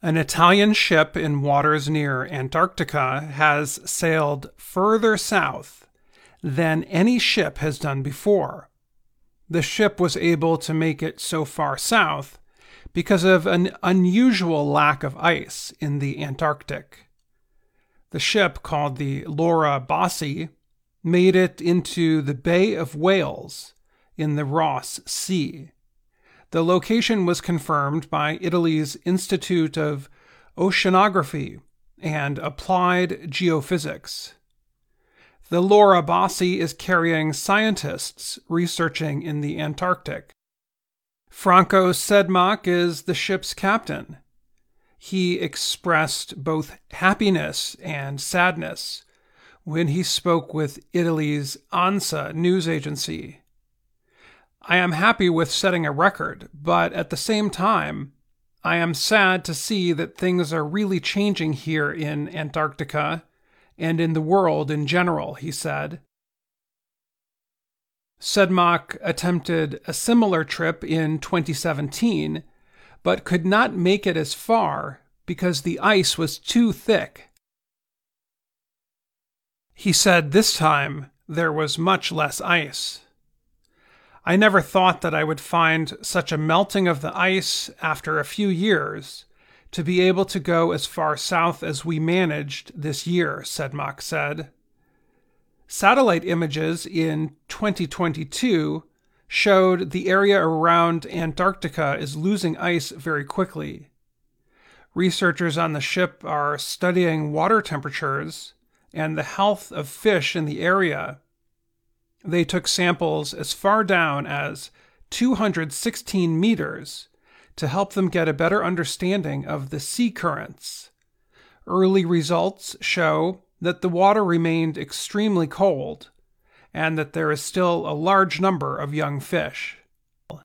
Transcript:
An Italian ship in waters near Antarctica has sailed further south than any ship has done before. The ship was able to make it so far south because of an unusual lack of ice in the Antarctic. The ship, called the Laura Bassi, made it into the Bay of Whales in the Ross Sea. The location was confirmed by Italy's Institute of Oceanography and Applied Geophysics. The Laura Bassi is carrying scientists researching in the Antarctic. Franco Sedmak is the ship's captain. He expressed both happiness and sadness when he spoke with Italy's ANSA news agency. "I am happy with setting a record, but at the same time, I am sad to see that things are really changing here in Antarctica and in the world in general," he said. Sedmak attempted a similar trip in 2017, but could not make it as far because the ice was too thick. He said this time there was much less ice. "I never thought that I would find such a melting of the ice after a few years to be able to go as far south as we managed this year," Sedmak said. Satellite images in 2022 showed the area around Antarctica is losing ice very quickly. Researchers on the ship are studying water temperatures and the health of fish in the area. They took samples as far down as 216 meters to help them get a better understanding of the sea currents. Early results show that the water remained extremely cold and that there is still a large number of young fish.